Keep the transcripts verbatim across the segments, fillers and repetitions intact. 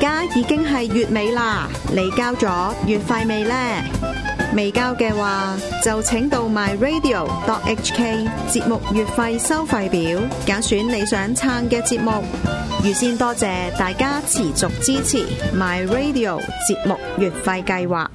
家已經係月尾啦，你交咗月費未呢？未交嘅話，就請到 my radio dot h k 節目月費收費表，揀選你想撐嘅節目。預先多謝大家持續支持 my radio 節目月費計劃。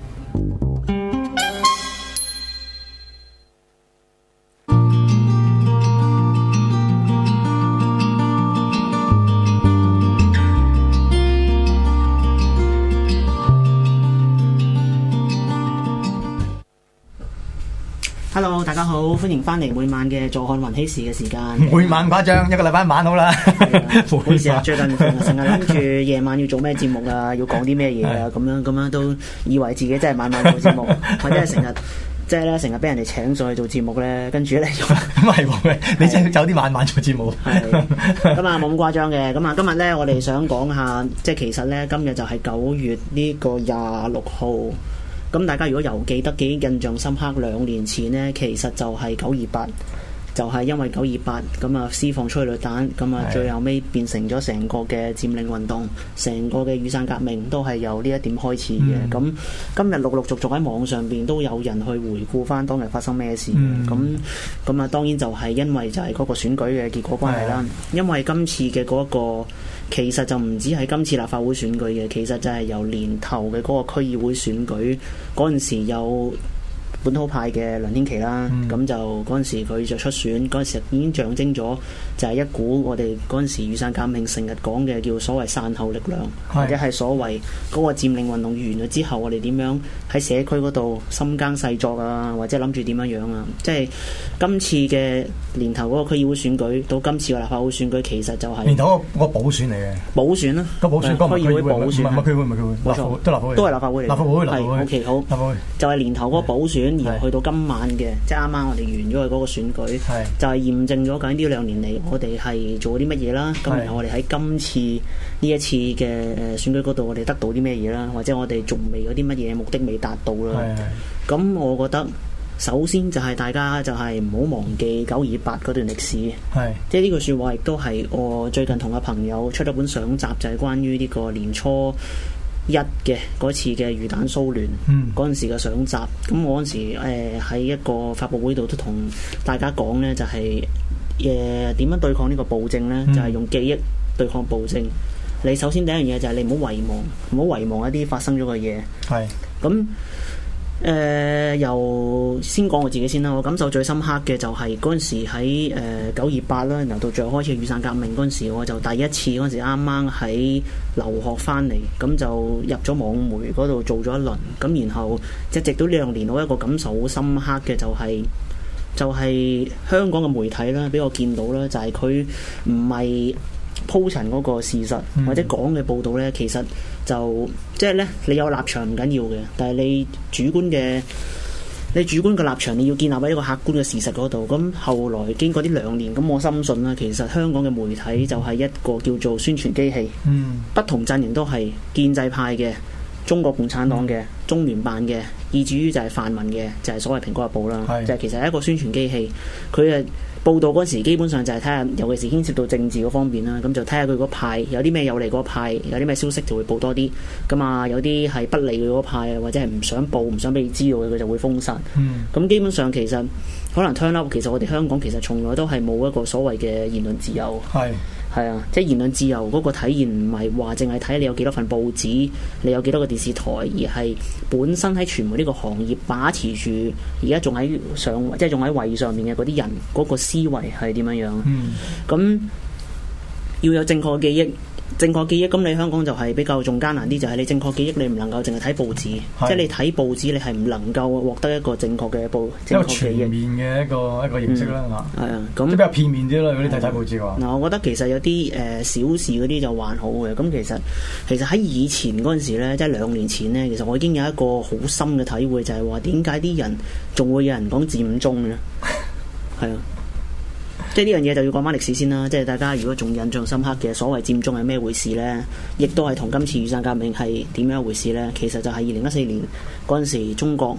Hello， 大家好，歡迎翻嚟每晚嘅坐看雲起時嘅時間。 每晚誇張，一個禮拜一晚好啦。 唔好意思啊，最近成日諗住夜晚要做咩節目啊，要講啲咩嘢啊，咁樣咁樣都以為自己真係晚晚做節目，或者係成日即係咧成日俾人哋請上去做節目咧，跟住咧咁係喎，你真係有啲晚晚做節目。 係咁啊，冇咁誇張嘅。咁啊，今日咧我哋想講下，即係其實咧今日就係九月呢個廿六號。咁大家如果又記得幾印象深刻，兩年前呢，其實就係九二八，就係因為九二八咁啊施放催淚彈，咁啊最後尾變成咗成個嘅佔領運動，成個嘅雨傘革命都係由呢一點開始嘅。咁、嗯、今日陸陸續續喺網上邊都有人去回顧翻當日發生咩事。咁咁啊當然就係因為就係嗰個選舉嘅結果關係啦。因為今次嘅嗰、嗰個其實就唔止係今次立法會選舉嘅，其實就係由年頭嘅嗰個區議會選舉嗰陣時有本土派嘅梁天琦啦，咁、嗯、就嗰陣時佢就出選，嗰陣時已經象徵咗就係一股我哋嗰陣時雨傘革命成日講嘅叫所謂散後力量，或者係所謂嗰個佔領運動完咗之後，我哋點樣喺社區嗰度深耕細作啊，或者諗住點樣樣啊？即係今次嘅年頭嗰個區議會選舉到今次嘅立法會選舉，其實就係、是、 年頭嗰個補選嚟嘅，補選啦， 個補選，個區議會補選，唔係區會，唔係區會， 冇錯， 都立法會， 都係立法會嚟， 立法會，立法會 ，OK 好， 立法會就係年頭嗰個補選。而去到今晚嘅，即係啱啱我哋完咗嘅嗰個選舉，就係驗證咗究竟呢兩年嚟我哋係做啲乜嘢啦。咁然後我哋喺今次呢一次嘅誒選舉嗰度，我哋得到啲咩嘢啦？或者我哋仲未有啲乜嘢目的未達到啦？咁我覺得首先就係大家就係唔好忘記九二八嗰段歷史。即係呢句説話亦都係我最近同個朋友出咗本相集，就係、是、關於呢個年初一嘅嗰次嘅魚蛋騷亂嗰陣時嘅相集，咁我嗰陣時誒喺、呃、一個發佈會度都同大家講呢，就係誒點樣對抗呢個暴政呢？嗯、就係用記憶對抗暴政。你首先第一樣嘢就係你唔好遺忘，唔好遺忘一啲發生咗嘅嘢。係咁誒，由先講我自己先啦。我感受最深刻嘅就係嗰陣時喺誒九二八啦，然後到最後開始雨傘革命嗰陣時，我就第一次嗰陣時啱啱喺留學翻嚟，咁就入咗網媒嗰度做咗一輪，咁然後即係直到呢兩年，我一個感受好深刻嘅就係、是、就係、是、香港嘅媒體啦，俾我見到啦，就係佢唔係鋪陳嗰個事實、嗯、或者講嘅報導呢，其實就即係呢，你有立場唔緊要嘅，但係你主觀嘅你主觀嘅立場，你要建立喺一個客觀嘅事實嗰度。咁後來經過呢兩年，咁我深信啦，其實香港嘅媒體就係一個叫做宣傳機器，嗯、不同陣營都係建制派嘅、中國共產黨嘅、嗯、中聯辦嘅，以至於就係泛民嘅，就係、是、所謂蘋果日報啦，是就係其實係一個宣傳機器，佢誒。報道嗰時基本上就係睇下，尤其是牽涉到政治嗰方面啦，咁就睇下佢嗰派有啲咩有利嗰派，有啲咩消息就會報多啲。咁啊，有啲係不利佢嗰派，或者係唔想報、唔想俾你知道嘅，佢就會封殺。咁、嗯、基本上其實可能 turn up，其實我哋香港其實從來都係冇一個所謂嘅言論自由。係係啊，即係言論自由嗰個體現唔係話淨係睇你有幾多份報紙，你有幾多個電視台，而係本身喺傳媒呢個行業把持住而家仲喺上，即係仲喺位上面嘅嗰啲人嗰、嗰個思維係點樣樣？咁、嗯、要有正確嘅記憶，正確記憶。咁你香港就係比較仲艱難啲，就係、是、你正確記憶，你唔能夠淨係睇報紙，是即係你睇報紙，你係唔能夠獲得一個正確嘅報，正確記憶。一個全面嘅一個一個認識啦，係啊、嗯，咁比較片面啲啦。如果你睇睇報紙嘅話，嗱、嗯，我覺得其實有啲誒、呃、小事嗰啲就還好嘅。咁其實其實喺以前嗰陣時咧，即係兩年前咧，其實我已經有一個好深嘅體會，就係話點解啲人仲會有人講佔中咧？係啊。即係呢樣嘢就要講翻歷史先啦，即係大家如果仲印象深刻嘅所謂佔中係咩回事呢？亦都係同今次雨傘革命係點樣一回事呢？其實就係二零一四年嗰陣時，中國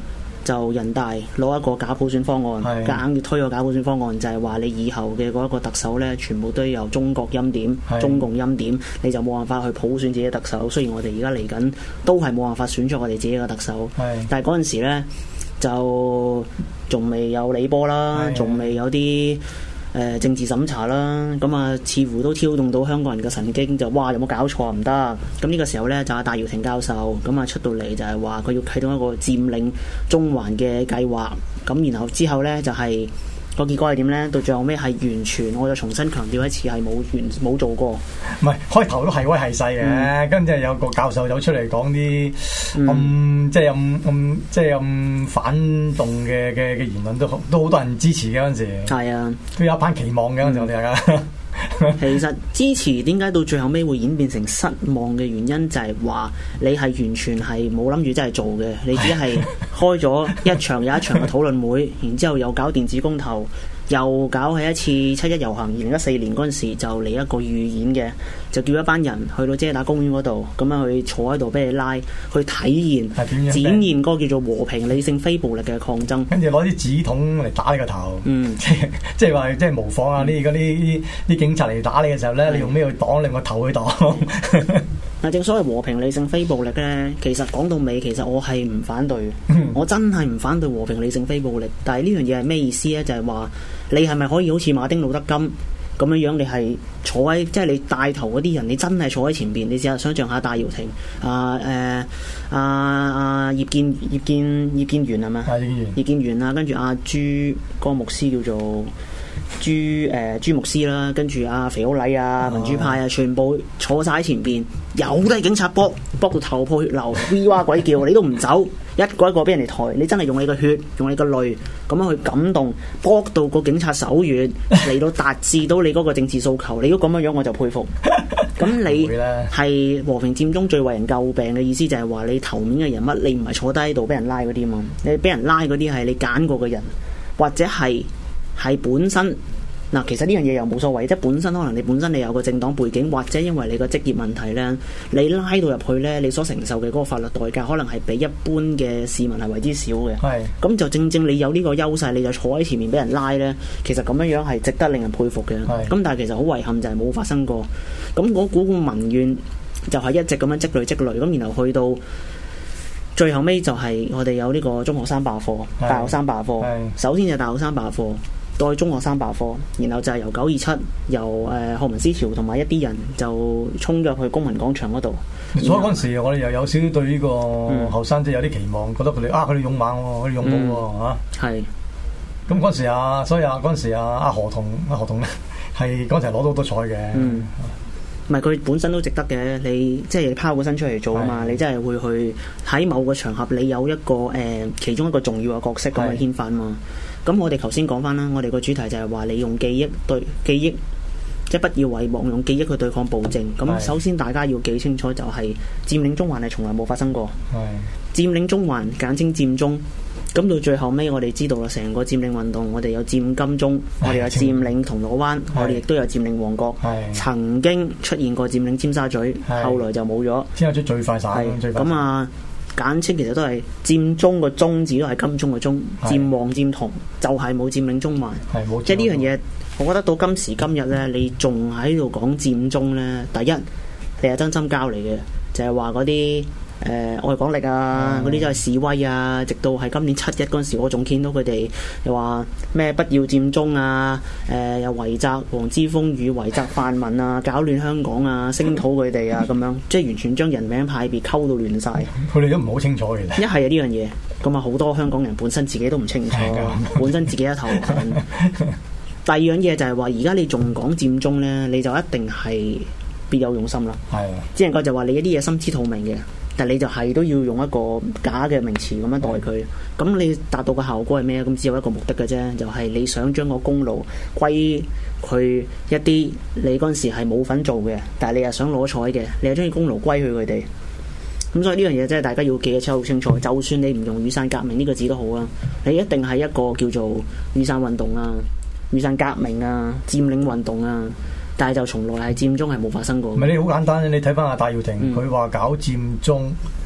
就人大攞一個假普選方案，夾硬要推個假普選方案，就係話你以後嘅嗰一個特首咧，全部都由中國欽點、中共欽點，你就冇辦法去普選自己嘅特首。雖然我哋而家嚟緊都係冇辦法選出我哋自己嘅特首，但係嗰陣時咧就仲未有李波啦，仲未有啲。誒、呃、政治審查啦，咁啊似乎都挑動到香港人嘅神經，就哇有冇搞錯唔得？咁呢個時候呢，就阿戴耀廷教授咁啊出到嚟就係話佢要啟動一個佔領中環嘅計劃，咁然後之後呢，就係、是、個結果係點呢？到最後尾係完全，我就重新強調一次係冇完冇做過。唔係開頭都係威係勢嘅，跟住、嗯、有個教授走出嚟講啲咁即係咁咁即係咁反動嘅嘅嘅言論，都都好多人支持嘅嗰陣時。係啊，都有一班期望嘅嗰陣時，我哋大家。 其實支持點解到最後尾會演變成失望嘅原因，就係話你係完全係冇諗住真係做嘅，你只係開咗一場又一場嘅討論會，然之後又搞電子公投，又搞起一次七一遊行。二零一四年嗰陣時就嚟一個預演嘅，就叫一班人去到遮打公園嗰度，咁樣去坐喺度俾你拉，去體現展現嗰個叫做和平理性非暴力嘅抗爭。 跟住攞啲紙筒嚟打你個頭，嗯，即係即係話即係模仿啊！呢而家啲啲警察嚟打你嘅時候咧，嗯、你用咩去擋？你個頭去擋。 嗱，正所謂和平理性非暴力咧，其實講到尾，其實我係唔反對，嗯、我真係唔反對和平理性非暴力。但係呢樣嘢係咩意思咧？就係、是、話你係咪可以好似馬丁路德金咁樣樣？你係坐喺即係你帶頭嗰啲人，你真係坐喺前邊。你試下想象下戴耀廷啊誒啊啊葉建葉建葉建源係咪？係葉建源。葉建源啊，跟住阿朱嗰個牧師叫做。朱誒、呃、朱牧師啦，跟住阿肥好禮啊、民主派啊，全部坐晒喺前邊，有都係警察搏搏到頭破血流，V 哇鬼叫，你都唔走，一個一個俾人哋抬，你真係用你個血，用你個淚咁樣去感動，搏到個警察手軟，嚟到達至到你嗰個政治訴求，你如果咁樣樣我就佩服。咁你係和平佔中最為人詬病嘅意思就係話你頭面嘅人物，你唔係坐低喺度俾人拉嗰啲嘛，你俾人拉嗰啲係你揀過嘅人，或者係。係本身嗱，其實呢樣嘢又冇所謂，即係本身可能你本身你有個政黨背景，或者因為你個職業問題咧，你拉到入去咧，你所承受嘅嗰個法律代價，可能係比一般嘅市民係為之少嘅。係咁是就正正你有呢個優勢，你就坐喺前面俾人拉咧，其實咁樣樣係值得令人佩服嘅。係咁是，但係其實好遺憾就係冇發生過。咁嗰股民怨就係一直咁樣積累積累，咁然後去到最後尾就係我哋有呢個中學生罷課、是大學生罷課。首先就係大學生罷課。再中學生罷課，然後就係由九二七，由誒學民思潮同埋一啲人就衝咗去公民廣場嗰度。 所以嗰陣時，我哋又有少少對呢個後生仔有啲期望，覺得佢哋啊，佢哋勇猛喎，佢哋勇武喎嚇。係。咁嗰陣時啊，所以啊，嗰陣時啊，阿何同阿何同咧，係嗰陣時攞到好多彩嘅。嗯。 唔係佢本身都值得嘅，你即係你拋個身出嚟做啊嘛，你真係會去喺某個場合，你有一個誒、呃、其中一個重要嘅角色咁去牽發嘛。咁我哋頭先講翻啦，我哋個主題就係話你用記憶對記憶，即係不要遺忘用記憶去對抗暴政。咁首先大家要記清楚就係佔領中環係從來冇發生過。係佔領中環簡稱佔中。咁到最後尾，我哋知道啦，成個佔領運動，我哋有佔金鐘，我哋有佔領銅鑼灣，我哋亦都有佔領旺角。曾經出現過佔領尖沙咀，後來就冇咗。 尖沙咀最快散，最快。 咁啊，簡稱其實都係佔中個中字都係金鐘個中，佔旺佔銅就係冇佔領中環。即係呢樣嘢，我覺得到今時今日咧，你仲喺度講佔中咧，第一你係真心交嚟嘅，就係話嗰啲。誒、呃、愛港力啊，嗰啲都係示威啊，直到係今年七一嗰陣時，我仲見到佢哋又話咩不要佔中啊，誒、呃、又圍襲黃之鋒與圍襲泛民啊，搞亂香港啊，聲討佢哋啊，咁樣即係完全將人名派別溝到亂晒。 佢哋都唔好清楚嘅。 一係啊呢樣嘢，咁啊好多香港人本身自己都唔清楚，本身自己一頭霧。第二樣嘢就係話，而家你仲講佔中咧，你就一定係別有用心啦。係啊，只能夠就話你一啲嘢心知肚明嘅。但你就係都要用一個假嘅名詞咁樣代佢，咁、嗯、你達到嘅效果係咩？咁只有一個目的嘅啫，就係、是、你想將個功勞歸佢一啲你嗰陣時係冇份做嘅，但係你又想攞彩嘅，你又將啲功勞歸去佢哋。咁所以呢樣嘢真係大家要記得超好清楚。就算你唔用雨傘革命呢個字都好啊，你一定係一個叫做雨傘運動啊、雨傘革命啊、佔領運動啊。但係就從來係佔中係冇發生過。 唔係，你好簡單，你睇翻阿戴耀廷，佢話、嗯、搞佔中，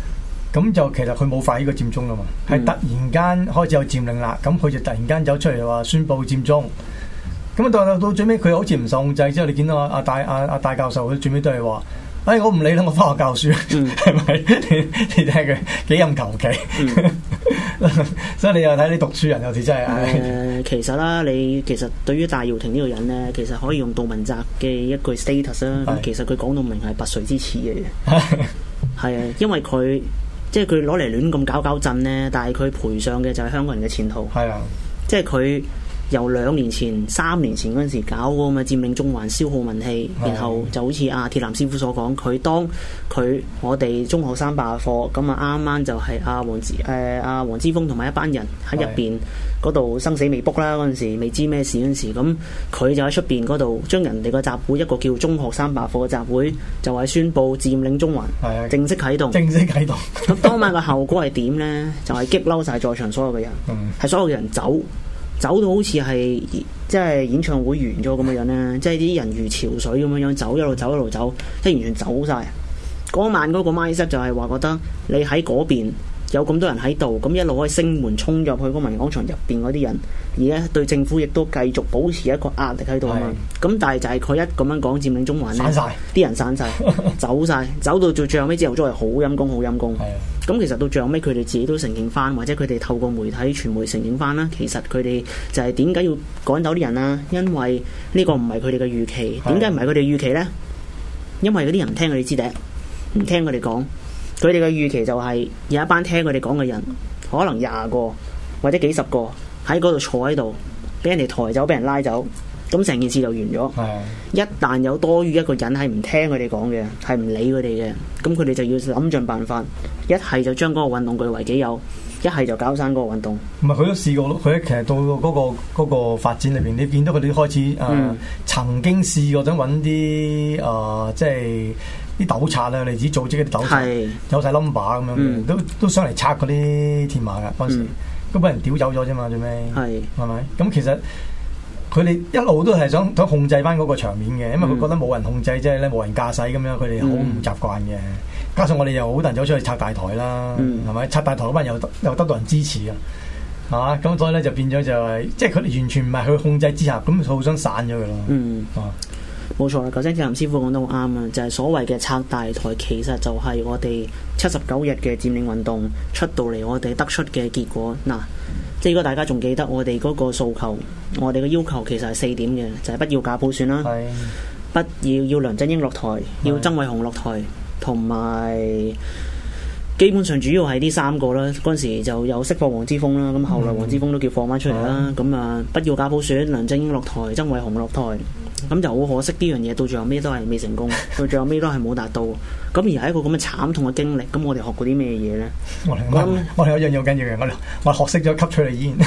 咁就其實佢冇發呢個佔中噶嘛，係、嗯、突然間開始有佔領啦，咁佢就突然間走出嚟話宣佈佔中。咁到到到最尾佢好似唔受控制之後，你見到阿阿戴阿阿戴教授佢最尾都係話。哎，我唔理啦，我翻學教書，係咪、嗯？你你睇佢幾咁求其，嗯、所以你又睇你讀書人有時真係。誒、 呃，其實啦，你其實對於戴耀廷呢個人咧，其實可以用杜汶澤嘅一句 status 啦。咁其實佢講到明係拔萃之恥嘅，係啊，因為佢即係佢攞嚟亂咁搞搞震咧，但係佢賠上嘅就係香港人嘅前途。係啊，即係佢。由兩年前、三年前嗰陣時搞嗰咁嘅佔領中環、消耗民氣，然後就好似阿鐵男師傅所講，佢當佢我哋中學生罷課，咁啊啱啱就係阿黃之誒阿黃之鋒同埋一班人喺入邊嗰度生死未卜啦，嗰陣時未知咩事嗰陣時，咁佢就喺出邊嗰度將人哋個集會一個叫中學生罷課嘅集會，就係宣佈佔領中環，正式啟動。 正式啟動。 咁當晚嘅後果係點呢？就係、是、激嬲晒在場所有嘅人，係、嗯、所有嘅人走。走到好似係即係演唱會完咗咁嘅樣咧，即係啲人如潮水咁樣樣走，一路走一路走，即係完全走晒。嗰晚嗰個 mindset 就係話覺得你喺嗰邊有咁多人喺度，咁一路可以升門衝入去嗰個民廣場入邊嗰啲人，而咧對政府亦都繼續保持一個壓力喺度啊嘛。咁是但係就係佢一咁樣講佔領中環咧，啲人散晒，走晒，走到最最後尾之後，都係好陰功，好陰功。咁其實到最後尾，佢哋自己都承認翻，或者佢哋透過媒體傳媒承認翻啦。其實佢哋就係點解要趕走啲人啊？因為呢個唔係佢哋嘅預期。點解唔係佢哋預期呢？因為嗰啲人唔聽佢哋支笛，唔聽佢哋講。佢哋嘅預期就係有一班聽佢哋講嘅人，可能廿個或者幾十個喺嗰度坐喺度，俾人哋抬走，俾人拉走，咁成件事就完咗。的一旦有多於一個人係唔聽佢哋講嘅，係唔理佢哋嘅，咁佢哋就要諗盡辦法，一係就將嗰個運動據為己有，一係就搞散嗰個運動。唔係佢都試過咯，佢其實到嗰、嗰個嗰個發展裏邊，你見到佢哋開始誒、呃嗯、曾經試過想揾啲誒即係。啲糾察啊，嚟自組織啲糾察，是有晒 number 咁樣，嗯、都都上嚟拆嗰啲鐵馬噶嗰陣時，都俾、嗯、人屌走咗啫嘛，最尾係係咪？咁其實佢哋一路都係想想控制翻嗰個場面嘅，因為佢覺得冇人控制，即係咧冇人駕駛咁樣，佢哋好唔習慣嘅。嗯、加上我哋又好多人走出去拆大台啦，係咪、嗯？拆大台嗰班又又得到人支持啊，係嘛？咁所以咧就變咗就係、是，即係佢哋完全唔係佢控制之下，咁互相散咗佢咯。嗯啊。冇錯啦，頭先鐵男師傅講得好啱啊！就係、是、所謂嘅拆大台，其實就係我哋七十九日嘅佔領運動出到嚟，我哋得出嘅結果。嗱，即係如果大家仲記得我哋嗰個訴求，我哋嘅要求其實係四點嘅，就係、是、不要假普選啦，是不要要梁振英落台，是要曾偉雄落台，同埋基本上主要係呢三個啦。嗰陣時就有釋放黃之鋒啦，咁後來黃之鋒都叫放翻出嚟啦。咁啊、嗯，不要假普選，梁振英落台，曾偉雄落台。咁就好可惜，呢樣嘢到最後尾都係未成功，到最後尾都係冇達到。咁而係一個咁嘅慘痛嘅經歷，咁我哋學過啲咩嘢咧？我哋我我哋有一樣嘢好緊要嘅，我哋我學識咗吸出嚟煙。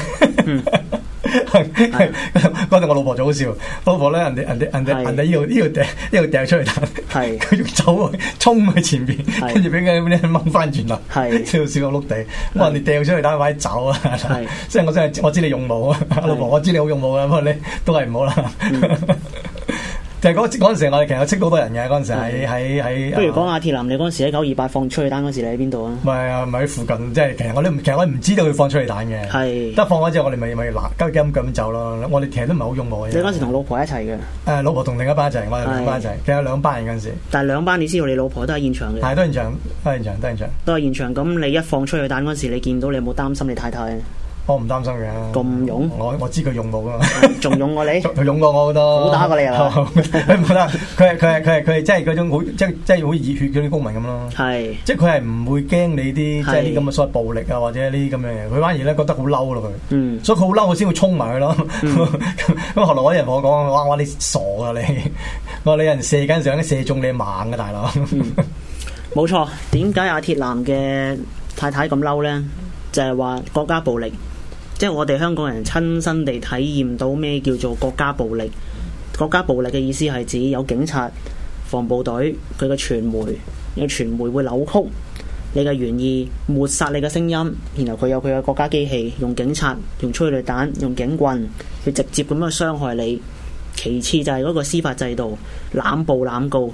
嗰陣我老婆就好笑，老婆咧人哋人哋人哋人哋呢度呢度掟呢度掟出嚟彈，佢仲走衝去前邊，跟住俾佢啲掹翻轉啦，笑笑到碌地。我話你掟出嚟彈快啲走啊！即係我真係我知你勇武啊，老婆我知你好勇武啊，不過你都係唔好啦。就係嗰嗰陣時，我哋其實有識到好多人嘅嗰陣時喺喺喺。不如講下鐵男，你嗰陣時喺九二八放催淚彈嗰時，你喺邊度啊？唔係啊，唔係喺附近，即係其實我都其實我唔知道佢放催淚彈嘅。係。得放咗之後，我哋咪咪嗱，急急咁走咯。我哋其實都唔係好勇武嘅。你嗰陣時同老婆一齊嘅？誒，老婆同另一班一齊，我哋兩班一齊，其實有兩班人嗰陣時。但係兩班，你知道你老婆都喺現場嘅。係都現場，都現場，都現場。都係現場。咁你一放催淚彈嗰時，你見到你有冇擔心你太太？我唔擔心嘅，咁勇，我我知佢勇武噶嘛，仲勇過你，佢勇過我好多，好打過你啊！佢唔得，佢係佢係佢係佢係即係嗰種好即係即係好熱血嗰啲公民咁咯。係，即係佢係唔會驚你啲即係啲咁嘅所謂暴力啊或者呢啲咁樣嘢，佢反而咧覺得好嬲咯佢。嗯，所以佢好嬲，我先會衝埋佢咯。咁後來我啲人同我講，哇！我你傻啊你，我話你人射緊上，射中你猛嘅大佬。冇錯，點解阿鐵男嘅太太咁嬲咧？就係話國家暴力。即係我哋香港人親身地體驗到咩叫做國家暴力。國家暴力嘅意思係指有警察、防暴隊、佢嘅傳媒，有傳媒會扭曲你嘅原意，抹殺你嘅聲音，然後佢有佢嘅國家機器，用警察、用催淚彈、用警棍去直接咁樣傷害你。其次就係嗰個司法制度濫捕濫告，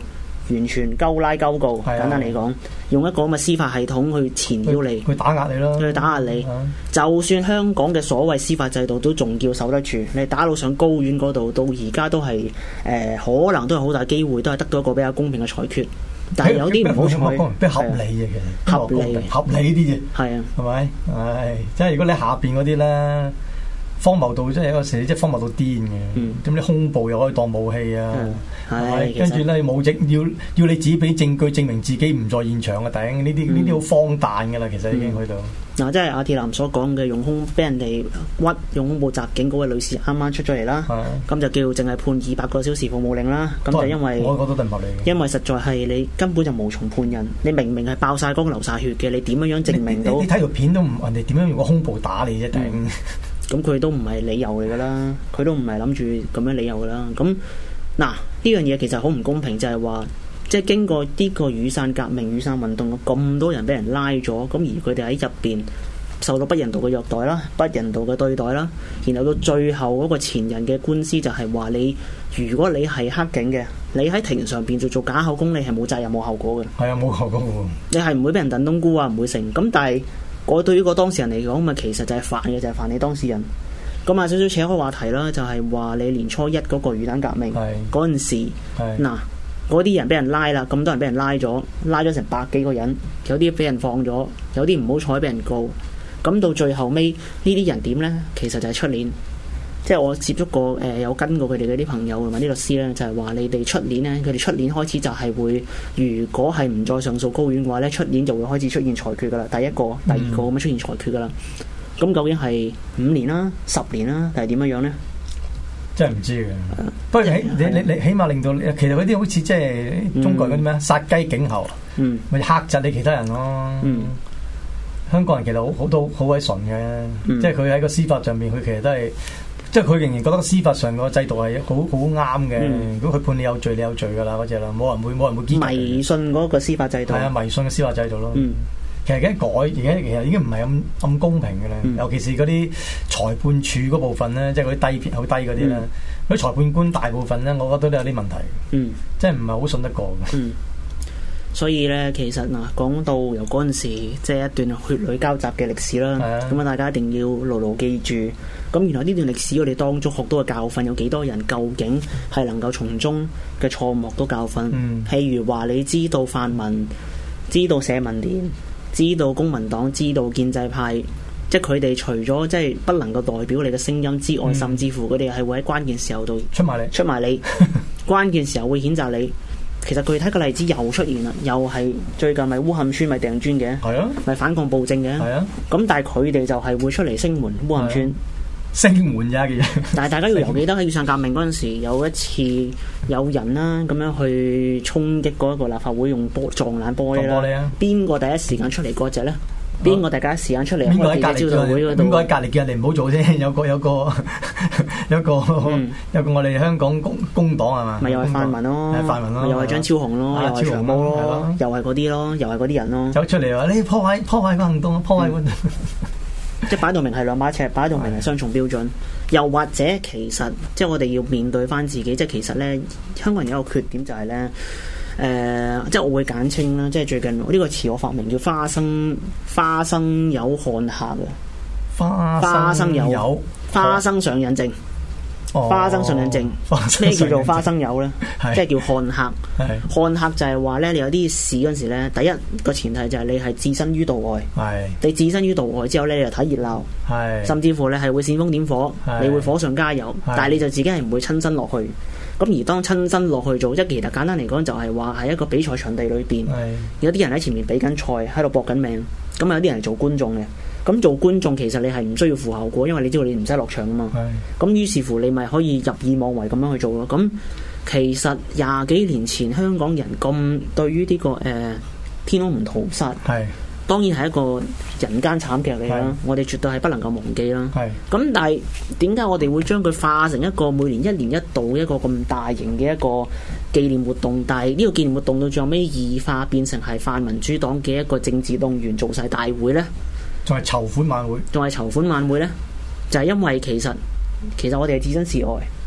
完全勾拉勾告， 係簡單嚟講，用一個咁嘅司法系統去纏繞你， 去打壓你咯， 去打壓你。就算香港嘅所謂司法制度都仲叫守得住，你打到上高院嗰度，到而家都係誒、呃，可能都係好大機會，都係得到一個比較公平嘅裁決。但係有啲唔好彩， 比較合理嘅，其實合理合理啲啫， 係啊， 係咪？唉，即係如果你下邊嗰啲咧，荒謬到即係有時即係荒謬到癲嘅，咁啲恐怖又可以當武器啊，係咪？跟住咧冇證要要你自己俾證據證明自己唔在現場嘅頂，呢啲呢啲好荒誕㗎啦，其實已經去到。 嗱，即係阿鐵男所講嘅用兇俾人哋屈用恐怖襲警嗰位女士啱啱出咗嚟啦，咁就叫淨係判二百個小時服務令啦。咁就因為我覺得都唔合理嘅， 因為實在係你根本就無從判人，你明明係爆晒光流晒血嘅，你點樣樣證明到？ 你睇條片都唔，人哋點樣用個胸部打你啫？頂、嗯！ 咁佢都唔係理由嚟噶啦，佢都唔係諗住咁樣理由噶啦。咁嗱，呢樣嘢其實好唔公平，就係話。即係經過呢個雨傘革命、雨傘運動，咁多人俾人拉咗，咁而佢哋喺入邊受到不人道嘅虐待啦、不人道嘅對待啦，然後到最後嗰個前人嘅官司就係話你，如果你係黑警嘅，你喺庭上邊做做假口供，你係冇責任冇後果嘅。係啊，冇後果嘅。你係唔會俾人燉冬菇啊，唔會成。咁但係我對於個當事人嚟講，咪其實就係煩嘅，就係、是、煩你當事人。咁啊，少少扯開話題啦，就係、是、話你年初一嗰個雨傘革命嗰陣時，嗱。嗰啲人俾人拉啦，咁多人俾人拉咗，拉咗成百幾個人，有啲俾人放咗，有啲唔好彩俾人告。咁到最後尾呢啲人點呢？其實就係出年，即係我接觸過誒、呃，有跟過佢哋嗰啲朋友同埋啲律師呢，就係、是、話你哋出年呢，佢哋出年開始就係會，如果係唔再上訴高院嘅話呢，出年就會開始出現裁決噶啦，第一個、第二個咁樣出現裁決噶啦。咁、嗯、究竟係五年啦、十年啦，定係點樣樣呢？ 真係唔知嘅，嗯、不過起你你你起碼令到，其實嗰啲好似即係中國嗰啲咩殺雞儆猴，咪嚇窒你其他人咯。嗯、香港人其實好好多好鬼純嘅，嗯、即係佢喺個司法上面，佢其實都係，即係佢仍然覺得司法上個制度係好好啱嘅。嗯、如果佢判你有罪，你有罪㗎啦，嗰隻啦，冇人會冇人會堅持。迷信嗰個司法制度係啊，迷信嘅司法制度咯。嗯其實而家改，而家其實已經唔係咁咁公平嘅啦。嗯、尤其是嗰啲裁判處嗰部分咧，即係嗰啲低片好低嗰啲咧，嗰啲、嗯、裁判官大部分咧，我覺得都有啲問題。嗯，即係唔係好信得過嘅。嗯，所以咧，其實嗱，講到由嗰陣時，即係一段血淚交集嘅歷史啦。咁啊，大家一定要牢牢記住。咁原來呢段歷史，我哋當中學到嘅教訓有幾多人？究竟係能夠從中嘅錯誤都教訓？嗯、譬如話，你知道泛民，知道社民連。知道公民黨，知道建制派，即係佢哋除咗即係不能夠代表你嘅聲音之外，嗯、甚至乎佢哋係會喺關鍵時候度出埋嚟，出埋你關鍵時候會譴責你。其實具體嘅例子又出現啦，又係最近咪烏坎村咪掟磚嘅，係啊，咪反抗暴政嘅，係啊。咁但係佢哋就係會出嚟聲援烏坎村。聲援咋嘅嘢，但係大家要留記得喺雨傘革命嗰陣時，有一次有人啦咁樣去衝擊嗰一個立法會，用玻撞爛玻璃啦。邊個、啊、第一時間出嚟嗰隻咧？邊個、啊、第一時間出嚟？邊個喺隔離招待會嗰度？邊個喺隔離叫人哋唔好做啫？有個有個有個、嗯、有個我哋香港工工黨係嘛？咪又係泛民咯，泛民咯，又係張超雄咯，又係長毛咯，又係嗰啲咯，又係嗰啲人咯。走出嚟話你破壞破壞個行動，破壞個。嗯即係擺到明係兩把尺，擺到明係雙重標準。又或者其實，即係我哋要面對翻自己。即係其實咧，香港人有一個缺點就係、是、咧，誒、呃，即係我會簡稱啦。即係最近呢、這個詞我發明叫花生花生友看客嘅花生友花生上癮症。花生上癮症，咩叫做花生友呢？即係叫看客。看客就係話呢，你有啲事嗰陣時呢，第一個前提就係你係置身於度外。你置身於度外之後呢，你就睇熱鬧。甚至乎你係會煽風點火，你會火上加油。但係你就自己係唔會親身落去。咁而當親身落去做，即係其實簡單嚟講，就係話喺一個比賽場地裏邊，有啲人喺前面比緊賽，喺度搏緊命。咁有啲人係做觀眾嘅。咁做觀眾其實你係唔需要負後果，因為你知道你唔使落場啊嘛。咁於是乎你咪可以入耳妄為咁樣去做咯。咁其實廿幾年前香港人咁對於呢、這個誒、呃、天安門屠殺，係當然係一個人間慘劇嚟啦。我哋絕對係不能夠忘記啦。咁但係點解我哋會將佢化成一個每年一年一度一個咁大型嘅一個紀念活動？但係呢個紀念活動到最後尾異化變成係泛民主黨嘅一個政治動員造勢大會呢？仲係籌款晚會，仲係籌款晚會呢？就係、是、因為其實其實我哋係置身事外，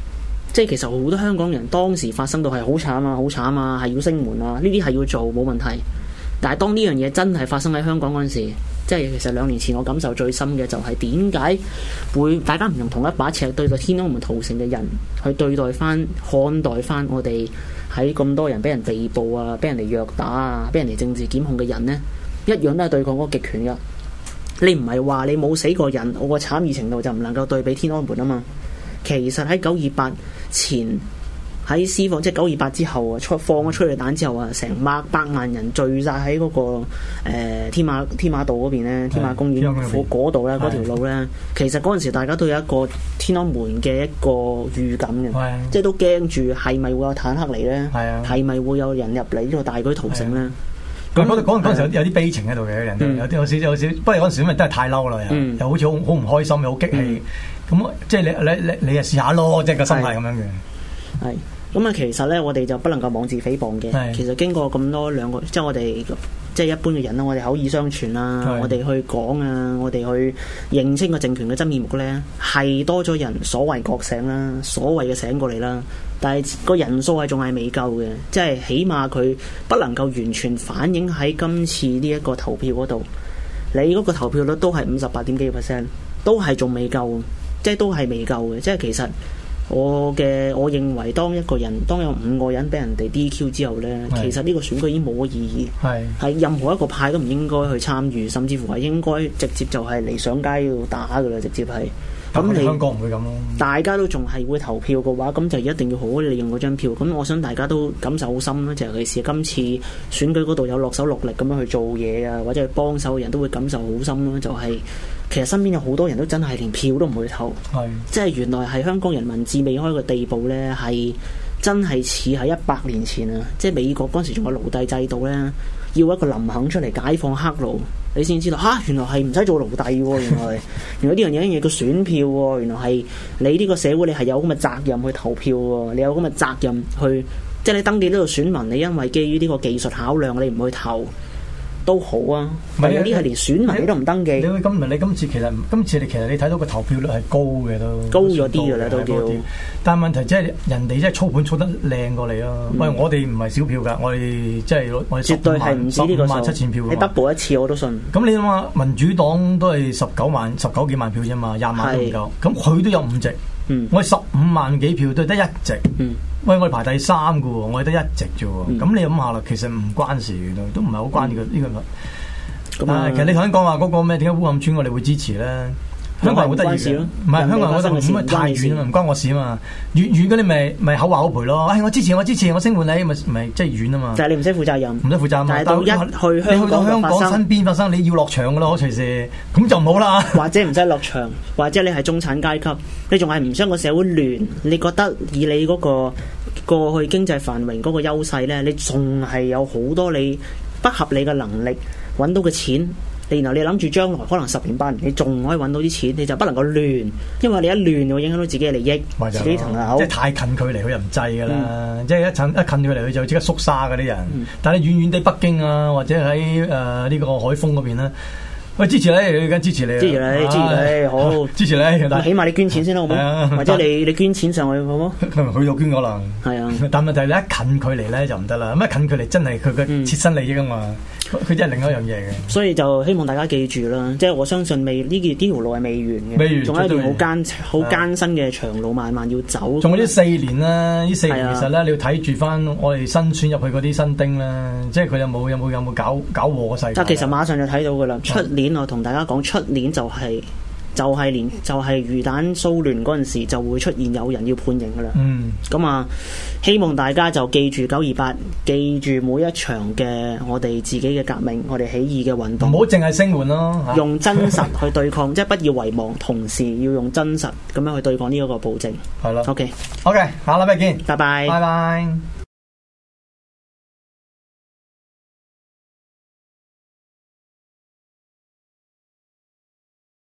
即係其實好多香港人當時發生到係好慘啊，好慘啊，係要升門啊，呢啲係要做冇問題。但係當呢樣嘢真係發生喺香港嗰陣時，即係其實兩年前我感受最深嘅就係點解會大家唔用同一把尺對待天安門屠城嘅人去對待翻、看待翻我哋喺咁多人俾人被捕啊、俾人哋虐打啊、俾人哋政治檢控嘅人呢？一樣都係對抗嗰個極權㗎。你唔係話你冇死過人，我個慘異程度就唔能夠對比天安門啊嘛。其實喺九二八前，喺施放即係九二八之後啊，出放咗催淚彈之後啊，成百百萬人聚晒喺嗰個誒、呃、天馬天馬道嗰邊咧，天馬公園嗰度咧，嗰條路咧，其實嗰陣時大家都有一個天安門嘅一個預感嘅，即係都驚住係咪會有坦克嚟咧？係咪會有人入嚟呢個大舉屠城咧？ 咁嗰嗰嗰陣時有啲悲情喺度嘅，人哋有啲有少有少，不過嗰陣時因為真係太嬲啦，又、嗯、又好似好好唔開心，又好激氣，咁、嗯、即係你你你你又試下咯，即係個心態咁樣嘅。係咁啊，其實咧我哋就不能夠妄自菲薄嘅。其實經過咁多兩個，即係我哋即係一般嘅人啦，我哋口耳相傳啊，我哋去講啊，我哋去認清個政權嘅真面目咧，係多咗人所謂覺醒啦，所謂嘅醒過嚟啦。但係個人數係仲係未夠嘅，即係起碼佢不能夠完全反映喺今次呢一個投票嗰度。你嗰個投票率都係五十八點幾個 percent，都係仲未夠，即係都係未夠嘅。即係其實我嘅我認為，當一個人當有五個人俾人哋 D Q 之後呢，其實呢個選舉已經冇乜意義，係係任何一個派都唔應該去參與，甚至乎係應該直接就係嚟上街度打㗎啦，直接係。咁你香港唔會咁咯， 大家都仲係會投票嘅話，咁就一定要好好利用嗰張票。咁我想大家都感受好深啦，就尤其是今次選舉嗰度有落手落力咁樣去做嘢啊，或者去幫手嘅人都會感受好深啦。就係、是、其實身邊有好多人都真係連票都唔會投，係即係原來係香港人民智未開嘅地步呢，係真係似喺一百年前啊！即係美國嗰陣時仲有奴隸制度呢，要一個林肯出嚟解放黑奴。你先知道嚇、啊，原來係唔使做奴隸喎，原來原來呢樣嘢嘢叫選票喎，原來係你呢個社會你係有咁嘅責任去投票喎，你有咁嘅責任去，即係你登記呢個選民，你因為基於呢個技術考量，你唔去投都好啊。唔係有啲係連選民你都唔登記。你今你今次其實今次你其實你睇到個投票率係高嘅都高咗啲嘅啦都叫。 但係問題即係人哋真係操盤操得靚過你咯。喂、嗯，我哋唔係少票㗎，我哋即係我哋絕對係唔止呢個數，十五萬七千票。你 double 一次我都信。 咁你諗下，民主黨都係十九萬十九幾萬票啫嘛，廿萬都唔夠。咁佢都有五席，嗯、我哋十五萬幾票都係得一席。嗯喂，我哋排第三嘅喎，我哋得一席啫喎。咁、嗯、你諗下啦，其實唔關事嘅都，都唔係好關呢、這個呢、嗯這個。咁啊、嗯，其實你頭先講話嗰個咩？點解烏坎村我哋會支持咧？香港人好得意嘅，唔係香港人覺得唔係太遠啊嘛，唔關我事啊嘛。遠遠嗰啲咪咪口話口賠咯。哎，我支持我支持我聲援你，咪咪即係遠啊嘛。 就係你唔使負責任， 唔使負責任。 但係到一去香港， 你去到香港身邊發生，你要落場嘅咯，隨時咁就唔好啦。 或者唔使落場，或者你係中產階級，你仲係唔想個社會亂？你覺得以你嗰個過去經濟繁榮嗰個優勢咧，你仲係有好多你不合理嘅能力揾到嘅錢。然後你諗住將來可能十年八年，你仲可以揾到啲錢，你就不能夠亂，因為你一亂會影響到自己嘅利益，自己層樓。 即係太近距離佢又唔制㗎啦，嗯、即係一近一近距離佢就即刻縮沙嗰啲人。嗯、但係遠遠地北京啊，或者喺誒呢個海豐嗰邊咧。喂，支持你，而家支持你， 支持你，支持你，好， 支持你。 但起碼你捐錢先啦，好唔好？或者你你捐錢上去，好唔好？ 佢有捐可能。 係啊， 但問題你一近距離咧就唔得啦。咁一近距離真係佢嘅切身利益啊嘛，佢真係另一樣嘢嘅。 所以就希望大家記住啦，即係我相信未呢件呢條路係未完嘅，未完，仲有一段好艱好艱辛嘅長路漫漫要走。 仲有呢四年啦，呢四年其實咧你要睇住翻我哋新選入去嗰啲新丁啦，即係佢有冇有冇有冇搞搞禍個世界。 其實馬上就睇到噶啦，出年我同大家講。出年就係、是、就係、是、連就係、是、魚蛋騷亂嗰陣時就會出現有人要判刑噶啦。嗯，咁啊，希望大家就記住九二八，記住每一場嘅我哋自己嘅革命，我哋起義嘅運動。唔好淨係聲援咯，用真實去對抗，即係不要遺忘，同時要用真實咁樣去對抗呢一個暴政。係咯。OK，OK， 好啦，拜見，拜拜，拜拜。